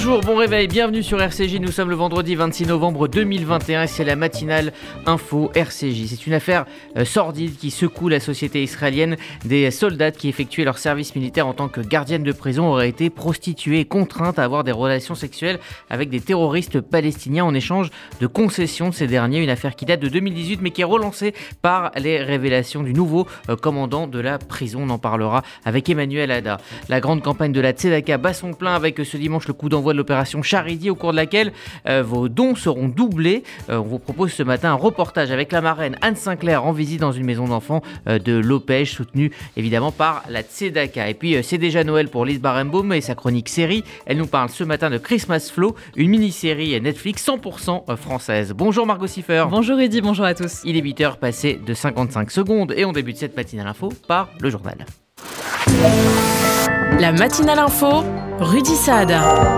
Bonjour, bon réveil, bienvenue sur RCJ, nous sommes le vendredi 26 novembre 2021 et c'est la matinale info RCJ. C'est une affaire sordide qui secoue la société israélienne. Des soldats qui effectuaient leur service militaire en tant que gardiennes de prison auraient été prostituées et contraintes à avoir des relations sexuelles avec des terroristes palestiniens en échange de concessions de ces derniers. Une affaire qui date de 2018 mais qui est relancée par les révélations du nouveau commandant de la prison. On en parlera avec Emmanuel Ada. La grande campagne de la Tzedaka bat son plein avec ce dimanche le coup d'envoi de l'opération Charity au cours de laquelle vos dons seront doublés. On vous propose ce matin un reportage avec la marraine Anne Sinclair en visite dans une maison d'enfants de Lopège, soutenue évidemment par la Tzedaka. Et puis c'est déjà Noël pour Lise Barenbaum et sa chronique série. Elle nous parle ce matin de Christmas Flow, une mini-série Netflix 100% française. Bonjour Margot Siffer. Bonjour Eddy, bonjour à tous. Il est 8h passé de 55 secondes et on débute cette matinale info par le journal. La matinale info, Rudy Saad.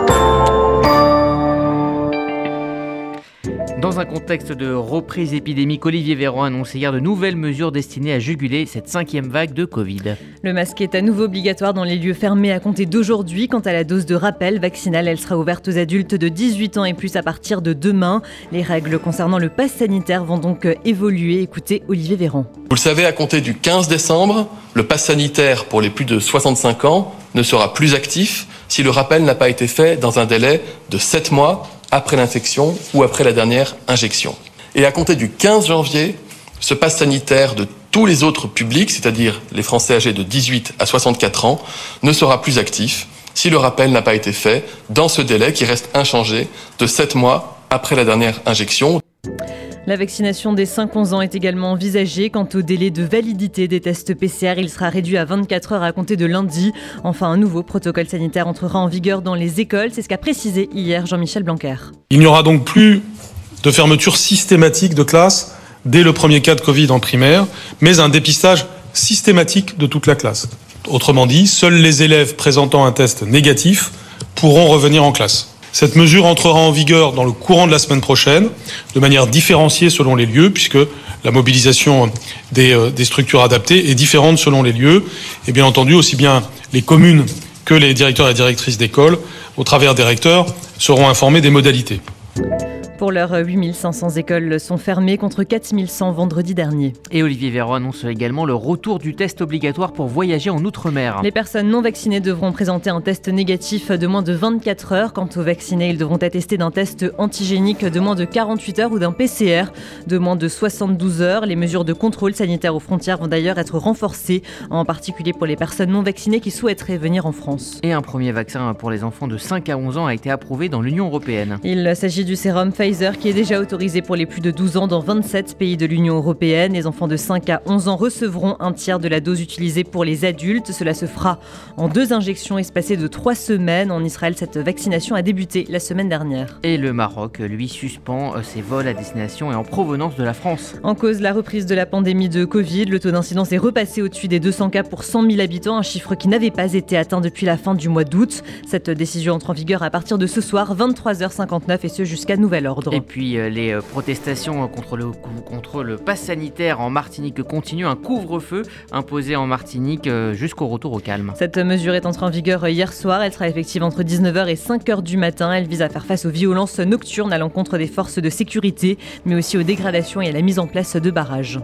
Dans un contexte de reprise épidémique, Olivier Véran a annoncé hier de nouvelles mesures destinées à juguler cette 5e vague de Covid. Le masque est à nouveau obligatoire dans les lieux fermés à compter d'aujourd'hui. Quant à la dose de rappel vaccinale, elle sera ouverte aux adultes de 18 ans et plus à partir de demain. Les règles concernant le pass sanitaire vont donc évoluer. Écoutez Olivier Véran. Vous le savez, à compter du 15 décembre, le pass sanitaire pour les plus de 65 ans ne sera plus actif si le rappel n'a pas été fait dans un délai de 7 mois après l'infection ou après la dernière injection. Et à compter du 15 janvier, ce pass sanitaire de tous les autres publics, c'est-à-dire les Français âgés de 18 à 64 ans, ne sera plus actif si le rappel n'a pas été fait dans ce délai qui reste inchangé de 7 mois après la dernière injection. La vaccination des 5-11 ans est également envisagée. Quant au délai de validité des tests PCR, il sera réduit à 24 heures à compter de lundi. Enfin, un nouveau protocole sanitaire entrera en vigueur dans les écoles. C'est ce qu'a précisé hier Jean-Michel Blanquer. Il n'y aura donc plus de fermeture systématique de classe dès le premier cas de Covid en primaire, mais un dépistage systématique de toute la classe. Autrement dit, seuls les élèves présentant un test négatif pourront revenir en classe. Cette mesure entrera en vigueur dans le courant de la semaine prochaine, de manière différenciée selon les lieux, puisque la mobilisation des structures adaptées est différente selon les lieux. Et bien entendu, aussi bien les communes que les directeurs et directrices d'école, au travers des recteurs, seront informés des modalités. Pour l'heure, 8500 écoles sont fermées contre 4100 vendredi dernier. Et Olivier Véran annonce également le retour du test obligatoire pour voyager en Outre-mer. Les personnes non vaccinées devront présenter un test négatif de moins de 24 heures. Quant aux vaccinés, ils devront attester d'un test antigénique de moins de 48 heures ou d'un PCR de moins de 72 heures. Les mesures de contrôle sanitaire aux frontières vont d'ailleurs être renforcées, en particulier pour les personnes non vaccinées qui souhaiteraient venir en France. Et un premier vaccin pour les enfants de 5 à 11 ans a été approuvé dans l'Union européenne. Il s'agit du sérum Pfizer qui est déjà autorisé pour les plus de 12 ans dans 27 pays de l'Union européenne. Les enfants de 5 à 11 ans recevront un tiers de la dose utilisée pour les adultes. Cela se fera en 2 injections espacées de 3 semaines. En Israël, cette vaccination a débuté la semaine dernière. Et le Maroc, lui, suspend ses vols à destination et en provenance de la France. En cause, la reprise de la pandémie de Covid. Le taux d'incidence est repassé au-dessus des 200 cas pour 100 000 habitants, un chiffre qui n'avait pas été atteint depuis la fin du mois d'août. Cette décision entre en vigueur à partir de ce soir, 23h59, et ce jusqu'à nouvel ordre. Et puis les protestations contre le pass sanitaire en Martinique continuent. Un couvre-feu imposé en Martinique jusqu'au retour au calme. Cette mesure est entrée en vigueur hier soir. Elle sera effective entre 19h et 5h du matin. Elle vise à faire face aux violences nocturnes à l'encontre des forces de sécurité, mais aussi aux dégradations et à la mise en place de barrages.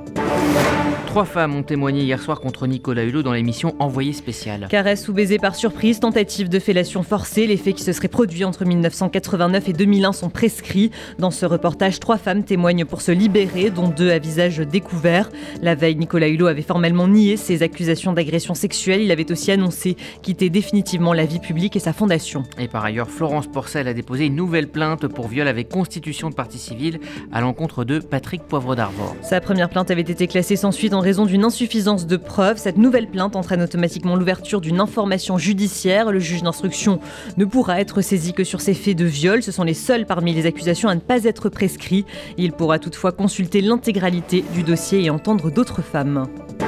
3 femmes ont témoigné hier soir contre Nicolas Hulot dans l'émission Envoyé spécial. Caresse ou baiser par surprise, tentative de fellation forcée, les faits qui se seraient produits entre 1989 et 2001 sont prescrits. Dans ce reportage, 3 femmes témoignent pour se libérer, dont 2 à visage découvert. La veille, Nicolas Hulot avait formellement nié ses accusations d'agression sexuelle. Il avait aussi annoncé quitter définitivement la vie publique et sa fondation. Et par ailleurs, Florence Porcel a déposé une nouvelle plainte pour viol avec constitution de partie civile à l'encontre de Patrick Poivre d'Arvor. Sa première plainte avait été classée sans suite en raison d'une insuffisance de preuves. Cette nouvelle plainte entraîne automatiquement l'ouverture d'une information judiciaire. Le juge d'instruction ne pourra être saisi que sur ces faits de viol. Ce sont les seuls parmi les accusations à ne pas être prescrits. Il pourra toutefois consulter l'intégralité du dossier et entendre d'autres femmes.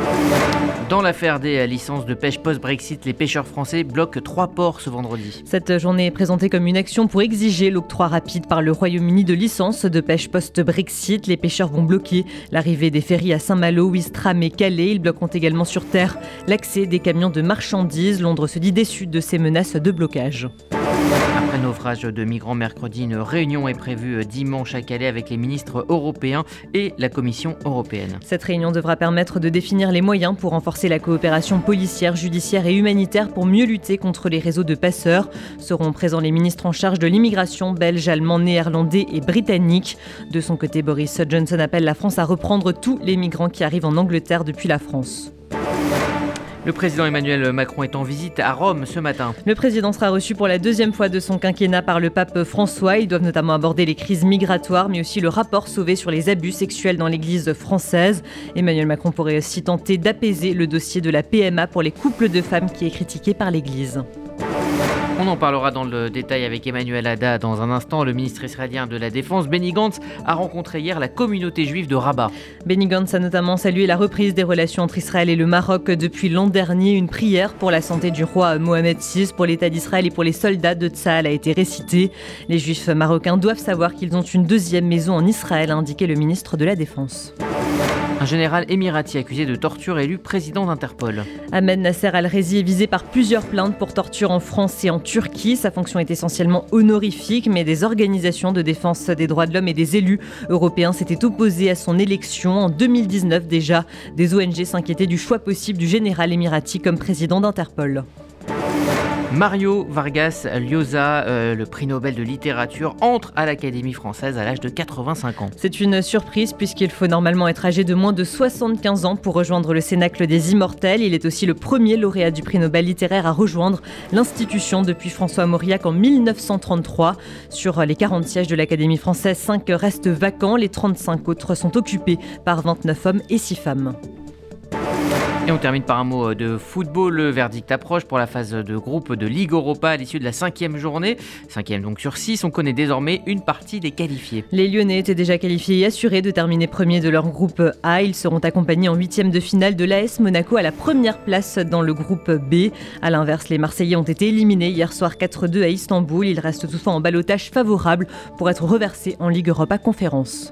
Dans l'affaire des licences de pêche post-Brexit, les pêcheurs français bloquent 3 ports ce vendredi. Cette journée est présentée comme une action pour exiger l'octroi rapide par le Royaume-Uni de licences de pêche post-Brexit. Les pêcheurs vont bloquer l'arrivée des ferries à Saint-Malo, Ouistreham et Calais. Ils bloqueront également sur terre l'accès des camions de marchandises. Londres se dit déçu de ces menaces de blocage. Après Un naufrage de migrants mercredi. Une réunion est prévue dimanche à Calais avec les ministres européens et la Commission européenne. Cette réunion devra permettre de définir les moyens pour renforcer la coopération policière, judiciaire et humanitaire pour mieux lutter contre les réseaux de passeurs. Seront présents les ministres en charge de l'immigration belge, allemand, néerlandais et britannique. De son côté, Boris Johnson appelle la France à reprendre tous les migrants qui arrivent en Angleterre depuis la France. Le président Emmanuel Macron est en visite à Rome ce matin. Le président sera reçu pour la deuxième fois de son quinquennat par le pape François. Ils doivent notamment aborder les crises migratoires, mais aussi le rapport Sauvé sur les abus sexuels dans l'église française. Emmanuel Macron pourrait aussi tenter d'apaiser le dossier de la PMA pour les couples de femmes qui est critiqué par l'église. On en parlera dans le détail avec Emmanuel Hadda dans un instant. Le ministre israélien de la Défense, Benny Gantz, a rencontré hier la communauté juive de Rabat. Benny Gantz a notamment salué la reprise des relations entre Israël et le Maroc depuis l'an dernier. Une prière pour la santé du roi Mohamed VI, pour l'État d'Israël et pour les soldats de Tsahal a été récitée. Les juifs marocains doivent savoir qu'ils ont une deuxième maison en Israël, a indiqué le ministre de la Défense. Un général émirati accusé de torture élu président d'Interpol. Ahmed Nasser Al-Rezi est visé par plusieurs plaintes pour torture en France et en Turquie. Sa fonction est essentiellement honorifique, mais des organisations de défense des droits de l'homme et des élus européens s'étaient opposés à son élection. En 2019 déjà, des ONG s'inquiétaient du choix possible du général émirati comme président d'Interpol. Mario Vargas Llosa, le prix Nobel de littérature, entre à l'Académie française à l'âge de 85 ans. C'est une surprise puisqu'il faut normalement être âgé de moins de 75 ans pour rejoindre le Cénacle des Immortels. Il est aussi le premier lauréat du prix Nobel littéraire à rejoindre l'institution depuis François Mauriac en 1933. Sur les 40 sièges de l'Académie française, 5 restent vacants. Les 35 autres sont occupés par 29 hommes et 6 femmes. Et on termine par un mot de football. Le verdict approche pour la phase de groupe de Ligue Europa à l'issue de la 5e journée. 5e donc sur 6, on connaît désormais une partie des qualifiés. Les Lyonnais étaient déjà qualifiés et assurés de terminer premier de leur groupe A. Ils seront accompagnés en 8e de finale de l'AS Monaco à la première place dans le groupe B. A l'inverse, les Marseillais ont été éliminés hier soir 4-2 à Istanbul. Ils restent toutefois en ballottage favorable pour être reversés en Ligue Europa Conférence.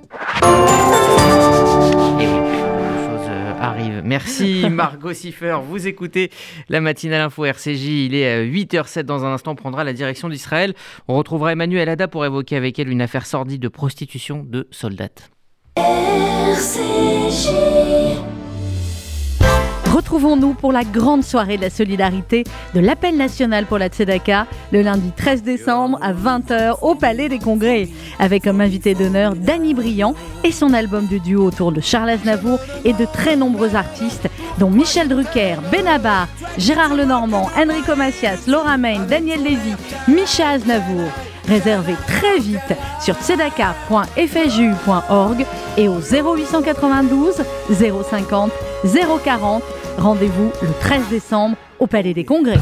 Arrive. Merci Margot Siffer. Vous écoutez la matinale info RCJ. Il est 8h07. Dans un instant, on prendra la direction d'Israël. On retrouvera Emmanuel Hadda pour évoquer avec elle une affaire sordide de prostitution de soldats. RCJ. Retrouvons-nous pour la grande soirée de la solidarité de l'appel national pour la Tzedaka le lundi 13 décembre à 20h au Palais des Congrès avec comme invité d'honneur Danny Briand et son album de duo autour de Charles Aznavour et de très nombreux artistes dont Michel Drucker, Benabar, Gérard Lenormand, Enrico Macias, Laura Main, Daniel Lévy, Micha Aznavour. Réservez très vite sur tzedaka.fju.org et au 0892 050 040. Rendez-vous le 13 décembre au Palais des Congrès.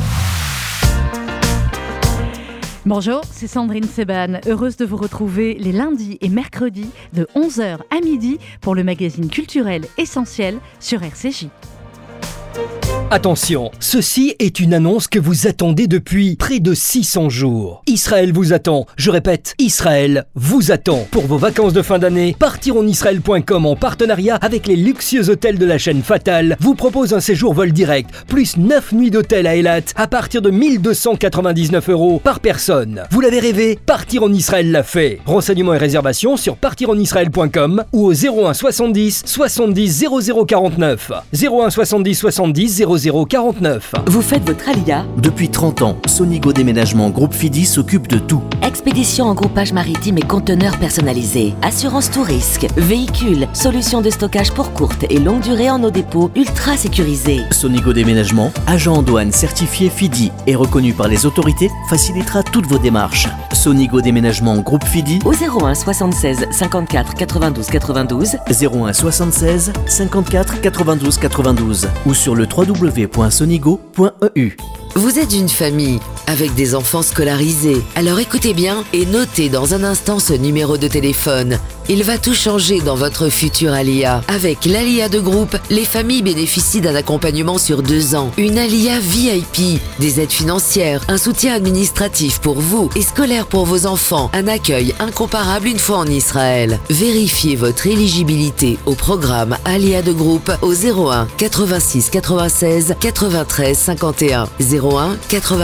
Bonjour, c'est Sandrine Seban, heureuse de vous retrouver les lundis et mercredis de 11h à midi pour le magazine culturel essentiel sur RCJ. Attention, ceci est une annonce que vous attendez depuis près de 600 jours. Israël vous attend, je répète, Israël vous attend. Pour vos vacances de fin d'année, partironisraël.com en partenariat avec les luxueux hôtels de la chaîne Fatal vous propose un séjour vol direct, plus 9 nuits d'hôtel à Eilat à partir de 1 299 € par personne. Vous l'avez rêvé, Partir en Israël l'a fait. Renseignements et réservations sur partironisraël.com ou au 01 70 70 00 49. 01 70 70 00 49. Vous faites votre Alia ? Depuis 30 ans, Sonigo Déménagement Groupe Fidi s'occupe de tout. Expédition en groupage maritime et conteneurs personnalisés. Assurance tout risque. Véhicules. Solutions de stockage pour courte et longue durée en nos dépôts ultra sécurisés. Sonigo Déménagement, agent en douane certifié Fidi et reconnu par les autorités, facilitera toutes vos démarches. Sonigo Déménagement Groupe Fidi au 01 76 54 92 92 01 76 54 92 92 ou sur le www.sonigo.eu. Vous êtes une famille avec des enfants scolarisés. Alors écoutez bien et notez dans un instant ce numéro de téléphone. Il va tout changer dans votre future Alia. Avec l'Alia de groupe, les familles bénéficient d'un accompagnement sur 2 ans. Une Alia VIP, des aides financières, un soutien administratif pour vous et scolaire pour vos enfants, un accueil incomparable une fois en Israël. Vérifiez votre éligibilité au programme Alia de groupe au 01 86 96 93 51. 01 86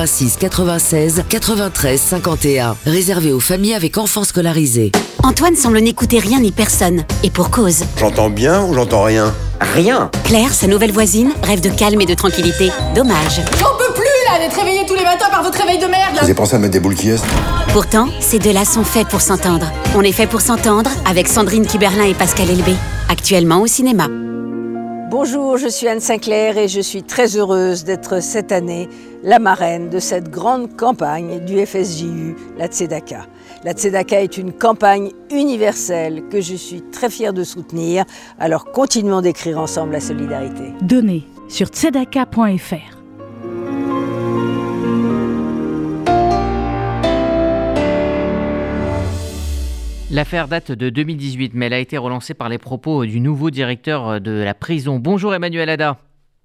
96 93 51. Réservé aux familles avec enfants scolarisés. Antoine semble n'écouter rien ni personne. Et pour cause. J'entends bien ou j'entends rien? Rien. Claire, sa nouvelle voisine, rêve de calme et de tranquillité. Dommage. J'en peux plus là d'être réveillée tous les matins par votre réveil de merde là. Vous avez pensé à mettre des boules qui est? Pourtant, ces deux-là sont faits pour s'entendre. On est fait pour s'entendre avec Sandrine Kiberlin et Pascal Elbé. Actuellement au cinéma. Bonjour, je suis Anne Sinclair et je suis très heureuse d'être cette année la marraine de cette grande campagne du FSJU, la Tzedaka. La Tzedaka est une campagne universelle que je suis très fière de soutenir, alors continuons d'écrire ensemble la solidarité. Donnez sur tzedaka.fr. L'affaire date de 2018, mais elle a été relancée par les propos du nouveau directeur de la prison. Bonjour Emmanuel Ada.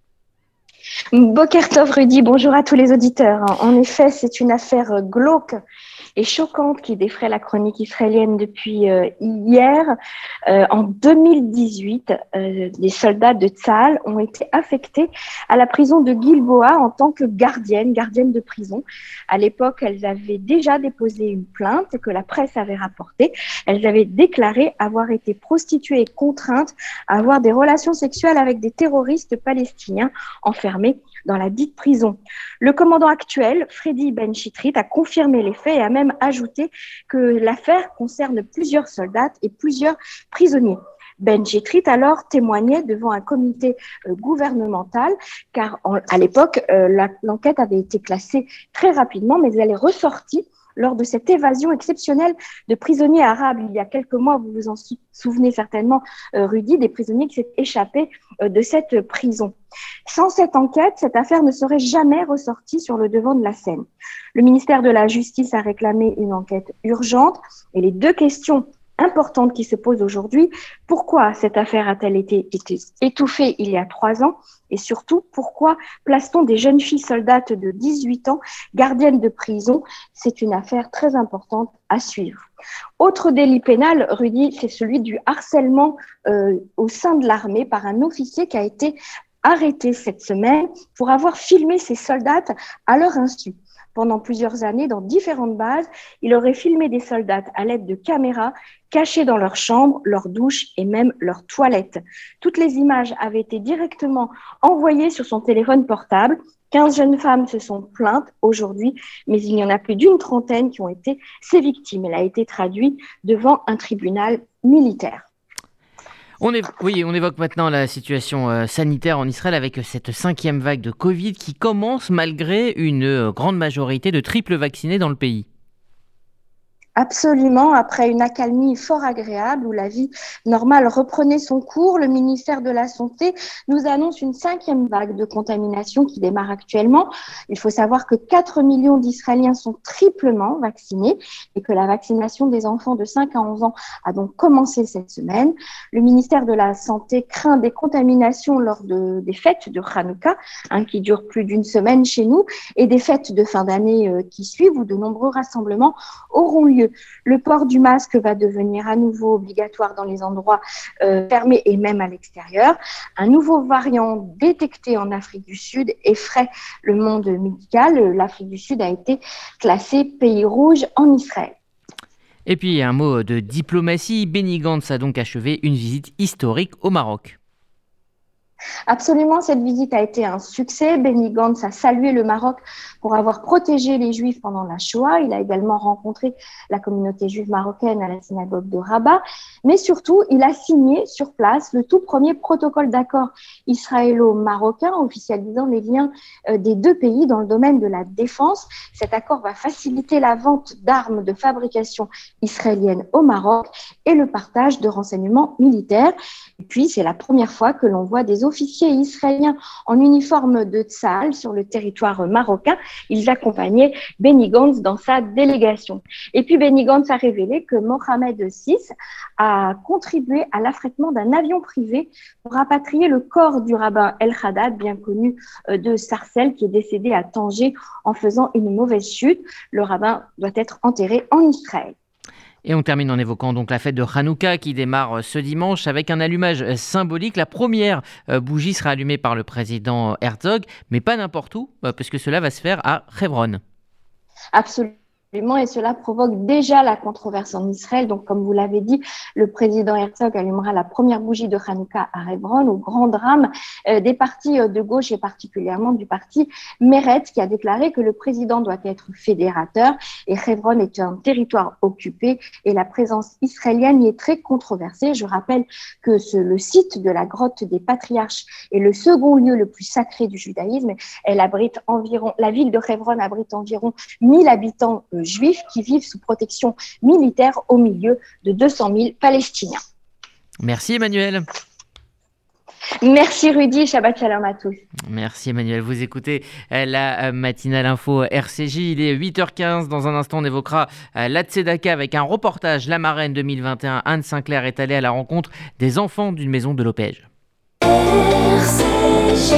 Boker Tov Rudy, bonjour à tous les auditeurs. En effet, c'est une affaire glauque et choquante qui défraie la chronique israélienne depuis hier. En 2018, des soldats de Tsahal ont été affectés à la prison de Gilboa en tant que gardiennes de prison. À l'époque, elles avaient déjà déposé une plainte que la presse avait rapportée. Elles avaient déclaré avoir été prostituées et contraintes à avoir des relations sexuelles avec des terroristes palestiniens enfermés dans la dite prison. Le commandant actuel, Freddy Ben Chitrit, a confirmé les faits et a même ajouté que l'affaire concerne plusieurs soldats et plusieurs prisonniers. Ben Chitrit alors témoignait devant un comité gouvernemental car à l'époque, l'enquête avait été classée très rapidement, mais elle est ressortie lors de cette évasion exceptionnelle de prisonniers arabes. Il y a quelques mois, vous vous en souvenez certainement, Rudy, des prisonniers qui s'étaient échappés de cette prison. Sans cette enquête, cette affaire ne serait jamais ressortie sur le devant de la scène. Le ministère de la Justice a réclamé une enquête urgente et les deux questions importante qui se pose aujourd'hui. Pourquoi cette affaire a-t-elle été étouffée il y a 3 ans? Et surtout, pourquoi place-t-on des jeunes filles soldates de 18 ans gardiennes de prison? C'est une affaire très importante à suivre. Autre délit pénal, Rudy, c'est celui du harcèlement au sein de l'armée par un officier qui a été arrêté cette semaine pour avoir filmé ses soldats à leur insu. Pendant plusieurs années, dans différentes bases, il aurait filmé des soldats à l'aide de caméras cachés dans leur chambre, leur douche et même leur toilette. Toutes les images avaient été directement envoyées sur son téléphone portable. 15 jeunes femmes se sont plaintes aujourd'hui, mais il y en a plus d'une trentaine qui ont été ses victimes. Elle a été traduite devant un tribunal militaire. On évoque maintenant la situation sanitaire en Israël avec cette 5e vague de Covid qui commence malgré une grande majorité de triples vaccinés dans le pays. Absolument, après une accalmie fort agréable où la vie normale reprenait son cours, le ministère de la Santé nous annonce une 5e vague de contamination qui démarre actuellement. Il faut savoir que 4 millions d'Israéliens sont triplement vaccinés et que la vaccination des enfants de 5 à 11 ans a donc commencé cette semaine. Le ministère de la Santé craint des contaminations lors des fêtes de Hanouka, qui durent plus d'une semaine chez nous, et des fêtes de fin d'année qui suivent où de nombreux rassemblements auront lieu. Le port du masque va devenir à nouveau obligatoire dans les endroits fermés et même à l'extérieur. Un nouveau variant détecté en Afrique du Sud effraie le monde médical. L'Afrique du Sud a été classée pays rouge en Israël. Et puis un mot de diplomatie. Benny Gantz a donc achevé une visite historique au Maroc. Absolument, cette visite a été un succès. Benny Gantz a salué le Maroc pour avoir protégé les Juifs pendant la Shoah. Il a également rencontré la communauté juive marocaine à la synagogue de Rabat. Mais surtout, il a signé sur place le tout premier protocole d'accord israélo-marocain officialisant les liens des deux pays dans le domaine de la défense. Cet accord va faciliter la vente d'armes de fabrication israélienne au Maroc et le partage de renseignements militaires. Et puis, c'est la première fois que l'on voit des officiers israéliens en uniforme de Tsahal sur le territoire marocain. Ils accompagnaient Benny Gantz dans sa délégation. Et puis Benny Gantz a révélé que Mohamed VI a contribué à l'affrètement d'un avion privé pour rapatrier le corps du rabbin El Haddad, bien connu de Sarcelles, qui est décédé à Tanger en faisant une mauvaise chute. Le rabbin doit être enterré en Israël. Et on termine en évoquant donc la fête de Hanouka qui démarre ce dimanche avec un allumage symbolique. La première bougie sera allumée par le président Herzog, mais pas n'importe où, puisque cela va se faire à Hebron. Absolument. Et cela provoque déjà la controverse en Israël. Donc, comme vous l'avez dit, le président Herzog allumera la première bougie de Hanouka à Hebron, au grand drame des partis de gauche et particulièrement du parti Meretz, qui a déclaré que le président doit être fédérateur et Hebron est un territoire occupé et la présence israélienne y est très controversée. Je rappelle que le site de la grotte des patriarches est le second lieu le plus sacré du judaïsme. La ville de Hebron abrite environ 1000 habitants juifs qui vivent sous protection militaire au milieu de 200 000 Palestiniens. Merci Emmanuel. Merci Rudy, Shabbat Shalom à tous. Merci Emmanuel, vous écoutez la matinale info RCJ, il est 8h15, dans un instant on évoquera la Tzedaka avec un reportage, la marraine 2021, Anne Sinclair est allée à la rencontre des enfants d'une maison de Lopège. RCJ.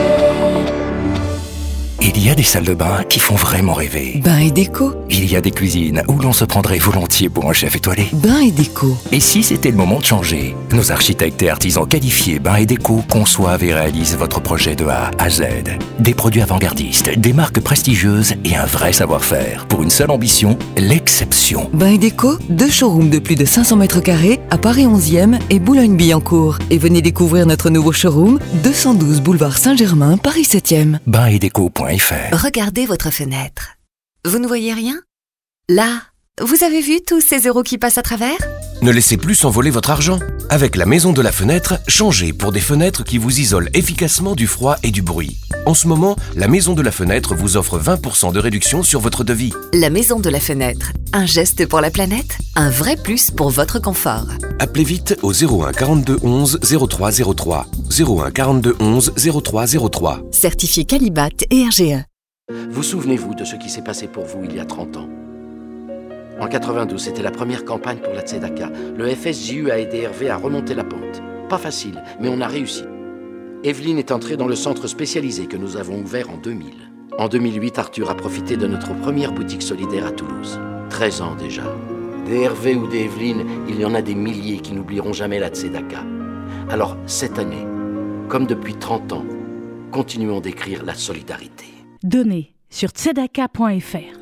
Il y a des salles de bain qui font vraiment rêver. Bain et déco. Il y a des cuisines où l'on se prendrait volontiers pour un chef étoilé. Bain et déco. Et si c'était le moment de changer? Nos architectes et artisans qualifiés Bain et déco conçoivent et réalisent votre projet de A à Z. Des produits avant-gardistes, des marques prestigieuses et un vrai savoir-faire. Pour une seule ambition, l'exception. Bain et déco, 2 showrooms de plus de 500 mètres carrés à Paris 11e et Boulogne-Billancourt. Et venez découvrir notre nouveau showroom, 212 boulevard Saint-Germain, Paris 7e. Bainetdeco.fr. Regardez votre fenêtre. Vous ne voyez rien? Là, vous avez vu tous ces euros qui passent à travers? Ne laissez plus s'envoler votre argent. Avec la Maison de la Fenêtre, changez pour des fenêtres qui vous isolent efficacement du froid et du bruit. En ce moment, la Maison de la Fenêtre vous offre 20% de réduction sur votre devis. La Maison de la Fenêtre. Un geste pour la planète, un vrai plus pour votre confort. Appelez vite au 01 42 11 03 03. 01 42 11 03 03. Certifié Qualibat et RGE. Vous souvenez-vous de ce qui s'est passé pour vous il y a 30 ans? En 92, c'était la première campagne pour la Tzedaka. Le FSJU a aidé Hervé à remonter la pente. Pas facile, mais on a réussi. Evelyne est entrée dans le centre spécialisé que nous avons ouvert en 2000. En 2008, Arthur a profité de notre première boutique solidaire à Toulouse. 13 ans déjà. Des Hervé ou des Evelyne, il y en a des milliers qui n'oublieront jamais la Tzedaka. Alors, cette année, comme depuis 30 ans, continuons d'écrire la solidarité. Donnez sur tzedaka.fr.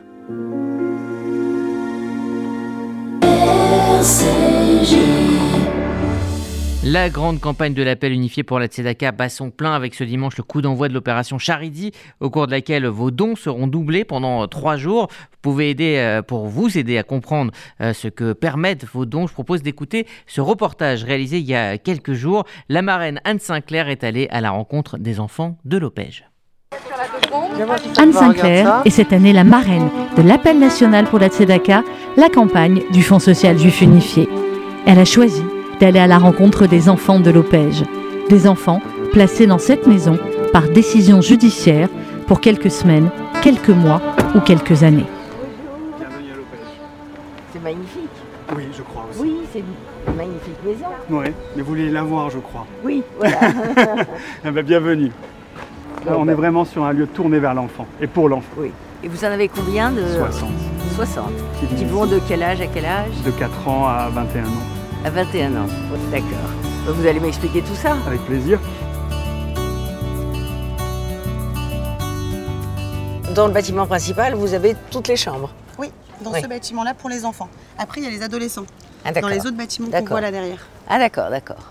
La grande campagne de l'appel unifié pour la Tzedaka bat son plein avec ce dimanche le coup d'envoi de l'opération Charidi, au cours de laquelle vos dons seront doublés pendant 3 jours. Vous pouvez aider, pour vous aider à comprendre ce que permettent vos dons. Je propose d'écouter ce reportage réalisé il y a quelques jours. La marraine Anne Sinclair est allée à la rencontre des enfants de Lopège. Anne Sinclair est cette année la marraine de l'appel national pour la Tzedaka, la campagne du Fonds social juif unifié. Elle a choisi d'aller à la rencontre des enfants de Lopège, des enfants placés dans cette maison par décision judiciaire pour quelques semaines, quelques mois ou quelques années. Bienvenue à Lopège. C'est magnifique. Oui, je crois aussi. Oui, c'est une magnifique maison. Oui, mais vous voulez la voir, je crois. Oui, voilà. Eh ben, bienvenue. Là, on est vraiment sur un lieu tourné vers l'enfant et pour l'enfant. Oui. Et vous en avez combien de 60. 60. Qui vont de quel âge à quel âge? De 4 ans à 21 ans. À 21 ans, d'accord. Vous allez m'expliquer tout ça? Avec plaisir. Dans le bâtiment principal, vous avez toutes les chambres? Oui, dans ce bâtiment-là pour les enfants. Après, il y a les adolescents. Ah, dans les autres bâtiments qu'on voit là derrière. Ah d'accord, d'accord.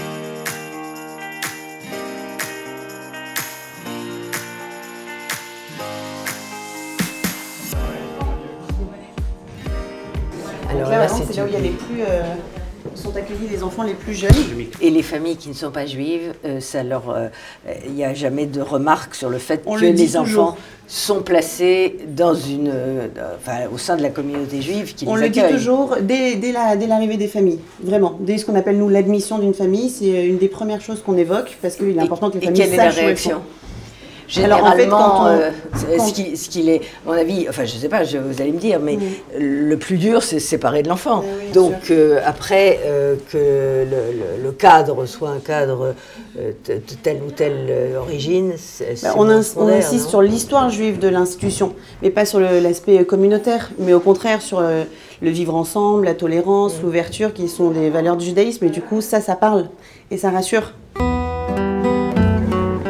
Alors là, c'est là où il y a les plus sont accueillis les enfants les plus jeunes. Et les familles qui ne sont pas juives, il n'y a jamais de remarque sur le fait que les enfants sont placés dans au sein de la communauté juive qui les accueille. On le dit toujours dès l'arrivée des familles, vraiment. Dès ce qu'on appelle nous l'admission d'une famille, c'est une des premières choses qu'on évoque parce qu'il est important que les familles sachent où elles sont. Généralement, ce qu'il est, à mon avis, enfin je sais pas, vous allez me dire, mais le plus dur c'est se séparer de l'enfant. Oui, donc après que le cadre soit un cadre de telle ou telle origine, on insiste sur l'histoire juive de l'institution, mais pas sur l'aspect communautaire, mais au contraire sur le vivre ensemble, la tolérance, l'ouverture, qui sont des valeurs du judaïsme, et du coup ça parle et ça rassure.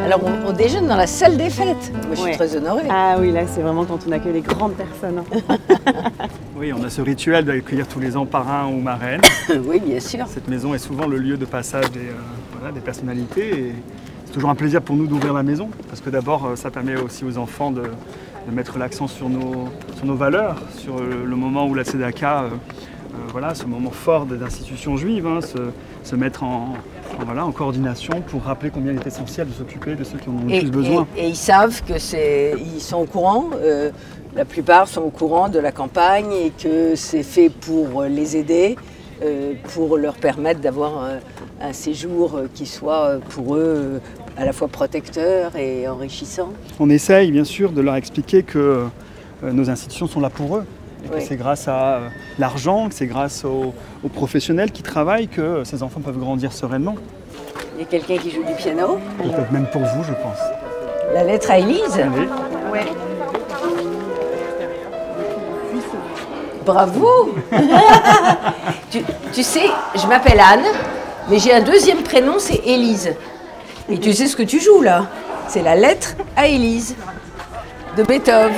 Alors on déjeune dans la salle des fêtes. Moi je suis très honorée. Ah oui, là c'est vraiment quand on accueille les grandes personnes. Oui, on a ce rituel d'accueillir tous les ans parrain ou marraine. Oui, bien sûr. Cette maison est souvent le lieu de passage des personnalités. Et c'est toujours un plaisir pour nous d'ouvrir la maison, parce que d'abord ça permet aussi aux enfants de mettre l'accent sur nos valeurs, sur le moment où la Tzedaka, ce moment fort des institutions juives, se mettre en coordination pour rappeler combien il est essentiel de s'occuper de ceux qui en ont le plus besoin. Et ils savent ils sont au courant, la plupart sont au courant de la campagne et que c'est fait pour les aider, pour leur permettre d'avoir un séjour qui soit pour eux à la fois protecteur et enrichissant. On essaye bien sûr de leur expliquer que nos institutions sont là pour eux. Et que c'est grâce à l'argent, que c'est grâce aux professionnels qui travaillent que ces enfants peuvent grandir sereinement. Il y a quelqu'un qui joue du piano. Peut-être même pour vous, je pense. La lettre à Élise. Allez. Ouais. Bravo. tu sais, je m'appelle Anne, mais j'ai un deuxième prénom, c'est Élise. Et tu sais ce que tu joues là? C'est la lettre à Élise de Beethoven.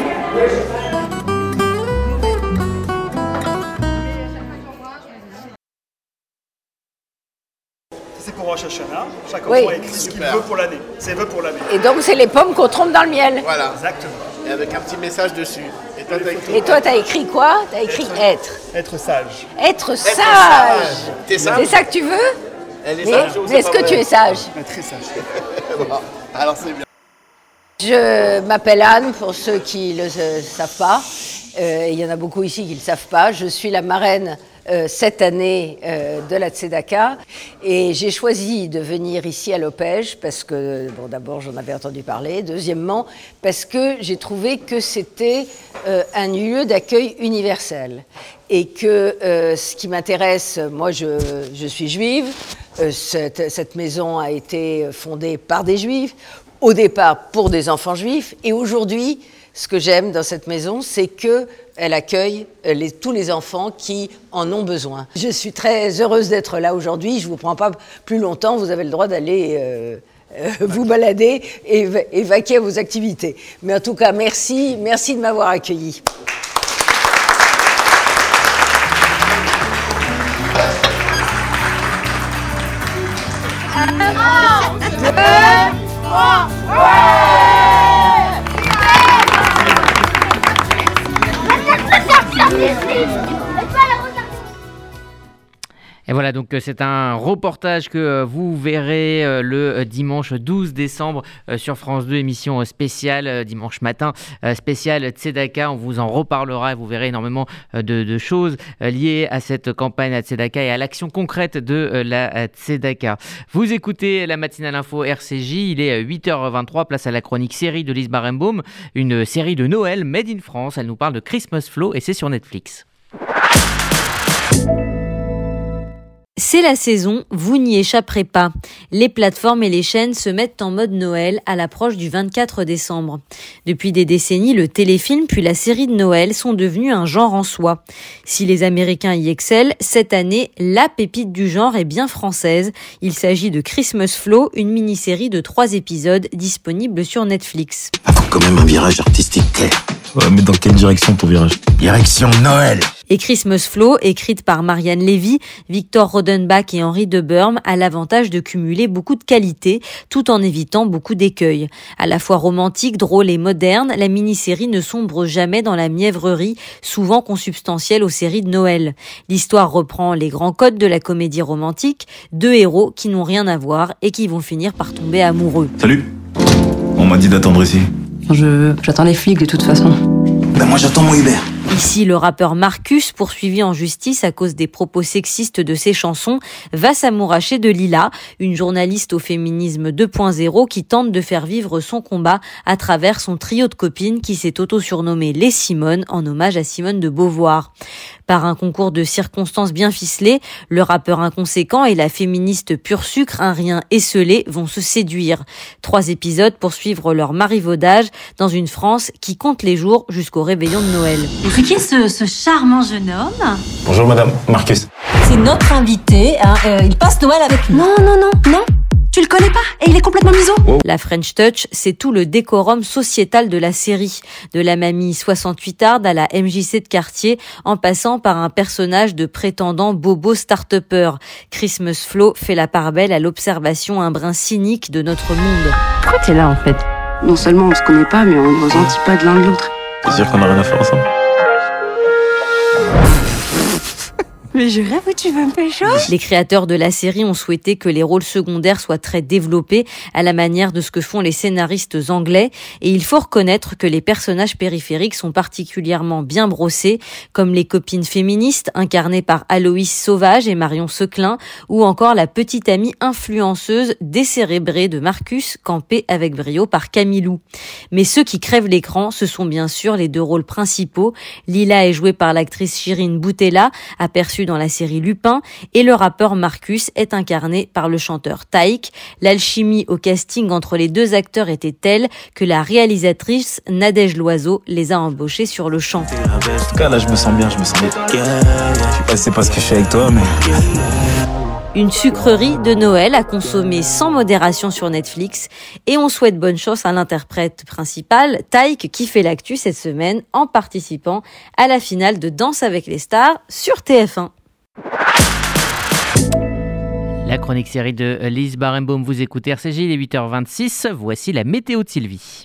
C'est pour Rosh Hashanah. Chaque enfant écrit ce qu'il veut pour l'année. Ses vœux pour l'année. Et donc c'est les pommes qu'on trempe dans le miel. Voilà. Exactement. Et avec un petit message dessus. Et toi, t'as écrit quoi? T'as écrit être. Être sage. Être sage. T'es sage? C'est ça que tu veux? Elle est sage. Mais est-ce que tu es sage? Très sage. Bon, alors c'est bien. Je m'appelle Anne, pour ceux qui ne le savent pas. Il y en a beaucoup ici qui ne le savent pas. Je suis la marraine cette année de la Tzedaka. Et j'ai choisi de venir ici à l'Opège parce que, d'abord, j'en avais entendu parler. Deuxièmement, parce que j'ai trouvé que c'était un lieu d'accueil universel. Et que ce qui m'intéresse, moi je suis juive, cette maison a été fondée par des juifs, au départ pour des enfants juifs, et aujourd'hui, ce que j'aime dans cette maison, c'est qu'elle accueille tous les enfants qui en ont besoin. Je suis très heureuse d'être là aujourd'hui, je ne vous prends pas plus longtemps, vous avez le droit d'aller vous balader et vaquer à vos activités. Mais en tout cas, merci de m'avoir accueilli. Et voilà, donc c'est un reportage que vous verrez le dimanche 12 décembre sur France 2, émission spéciale, dimanche matin, spéciale Tzedaka. On vous en reparlera et vous verrez énormément de choses liées à cette campagne à Tzedaka et à l'action concrète de la Tzedaka. Vous écoutez la matinale info RCJ, il est 8h23, place à la chronique série de Lise Barenbaum, une série de Noël made in France. Elle nous parle de Christmas Flow et c'est sur Netflix. C'est la saison, vous n'y échapperez pas. Les plateformes et les chaînes se mettent en mode Noël à l'approche du 24 décembre. Depuis des décennies, le téléfilm puis la série de Noël sont devenus un genre en soi. Si les Américains y excellent, cette année, la pépite du genre est bien française. Il s'agit de Christmas Flow, une mini-série de 3 épisodes disponible sur Netflix. Faut quand même un virage artistique clair. Ouais, mais dans quelle direction ton virage? Direction Noël. Et Christmas Flow, écrite par Marianne Lévy, Victor Rodenbach et Henri de Burme, a l'avantage de cumuler beaucoup de qualités, tout en évitant beaucoup d'écueils. À la fois romantique, drôle et moderne, la mini-série ne sombre jamais dans la mièvrerie, souvent consubstantielle aux séries de Noël. L'histoire reprend les grands codes de la comédie romantique, 2 héros qui n'ont rien à voir et qui vont finir par tomber amoureux. Salut. On m'a dit d'attendre ici. J'attends les flics de toute façon. Ben moi j'attends mon Uber. Ici, le rappeur Marcus, poursuivi en justice à cause des propos sexistes de ses chansons, va s'amouracher de Lila, une journaliste au féminisme 2.0 qui tente de faire vivre son combat à travers son trio de copines qui s'est auto-surnommé les Simone en hommage à Simone de Beauvoir. Par un concours de circonstances bien ficelé, le rappeur inconséquent et la féministe pur sucre, un rien esseulé, vont se séduire. 3 épisodes pour suivre leur marivaudage dans une France qui compte les jours jusqu'au réveillon de Noël. C'est qui ce charmant jeune homme? Bonjour madame, Marcus. C'est notre invité, il passe Noël avec nous. Non. Tu le connais pas et il est complètement miso. La French Touch, c'est tout le décorum sociétal de la série. De la mamie 68arde à la MJC de quartier, en passant par un personnage de prétendant bobo start-upper. Christmas Flow fait la part belle à l'observation un brin cynique de notre monde. Pourquoi t'es là en fait? Non seulement on se connaît pas, mais on ne ressentit pas de l'un de l'autre. C'est sûr qu'on a rien à faire ensemble. Mais je rêve où tu veux me pécho. Les créateurs de la série ont souhaité que les rôles secondaires soient très développés à la manière de ce que font les scénaristes anglais, et il faut reconnaître que les personnages périphériques sont particulièrement bien brossés, comme les copines féministes incarnées par Aloïs Sauvage et Marion Seclin, ou encore la petite amie influenceuse décérébrée de Marcus, campée avec brio par Camilou. Mais ceux qui crèvent l'écran, ce sont bien sûr les deux rôles principaux. Lila est jouée par l'actrice Chirine Boutella, aperçue dans la série Lupin, et le rappeur Marcus est incarné par le chanteur Taïk. L'alchimie au casting entre les deux acteurs était telle que la réalisatrice Nadège Loiseau les a embauchés sur le champ. En tout cas, là, je me sens bien. Je sais pas si c'est parce que je suis avec toi, mais... Une sucrerie de Noël à consommer sans modération sur Netflix, et on souhaite bonne chance à l'interprète principal, Taïk, qui fait l'actu cette semaine en participant à la finale de Danse avec les stars sur TF1. La chronique série de Lise Barenbaum, vous écoutez RCJ, il est 8h26, voici la météo de Sylvie.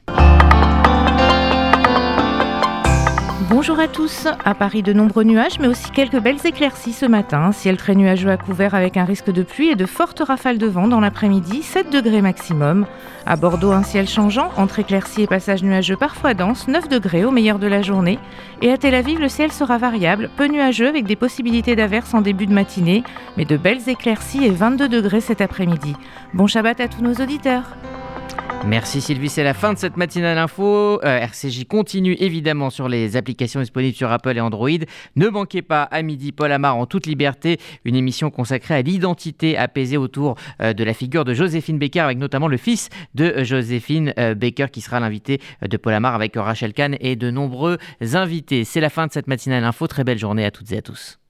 Bonjour à tous. À Paris, de nombreux nuages, mais aussi quelques belles éclaircies ce matin. Ciel très nuageux à couvert avec un risque de pluie et de fortes rafales de vent dans l'après-midi, 7 degrés maximum. À Bordeaux, un ciel changeant, entre éclaircies et passages nuageux parfois denses, 9 degrés au meilleur de la journée. Et à Tel Aviv, le ciel sera variable, peu nuageux avec des possibilités d'averses en début de matinée, mais de belles éclaircies et 22 degrés cet après-midi. Bon Shabbat à tous nos auditeurs. Merci Sylvie, c'est la fin de cette matinale info. RCJ continue évidemment sur les applications disponibles sur Apple et Android. Ne manquez pas à midi Paul Amar en toute liberté, une émission consacrée à l'identité apaisée autour de la figure de Joséphine Baker, avec notamment le fils de Joséphine Baker qui sera l'invité de Paul Amar avec Rachel Kahn et de nombreux invités. C'est la fin de cette matinale info, très belle journée à toutes et à tous.